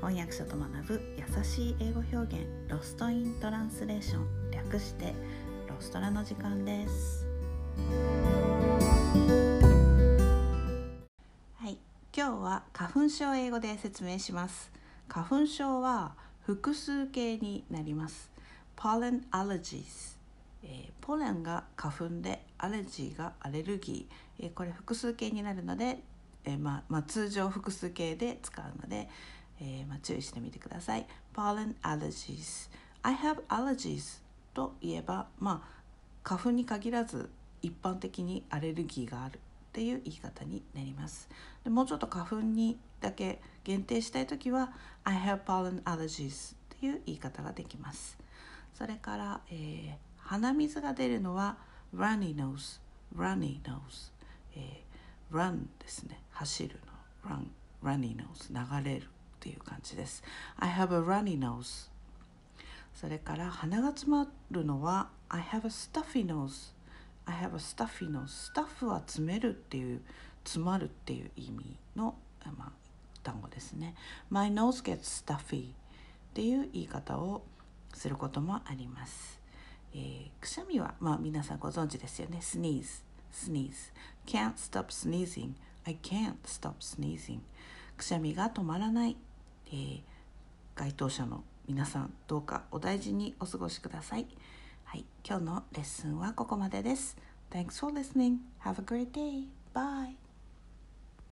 翻訳者と学ぶ優しい英語表現、ロストイントランスレーション、略してロストラの時間です。はい、今日は花粉症を英語で説明します。花粉症は複数形になります。Pollen allergies、ポレンが花粉でアレルギーがアレルギー、これ複数形になるので、通常複数形で使うので、注意してみてください。Pollen allergies。 I have allergies といえば、花粉に限らず一般的にアレルギーがあるっていう言い方になります。でもうちょっと花粉にだけ限定したいときは I have pollen allergies っていう言い方ができます。それから、鼻水が出るのは runny nose、 runny nose、run ですね、走るの runny nose、 流れるっていう感じです。 I have a runny nose。 それから鼻が詰まるのは I have a stuffy nose。 I have a stuffy nose。 スタッフは詰めるっていう、詰まるっていう意味の、単語ですね。 My nose gets stuffy っていう言い方をすることもあります。くしゃみは、皆さんご存知ですよね。 sneeze can't stop sneezing。 I can't stop sneezing。 くしゃみが止まらない。該当者の皆さん、どうかお大事にお過ごしください。はい、今日のレッスンはここまでです。 Thanks for listening. Have a great day. Bye.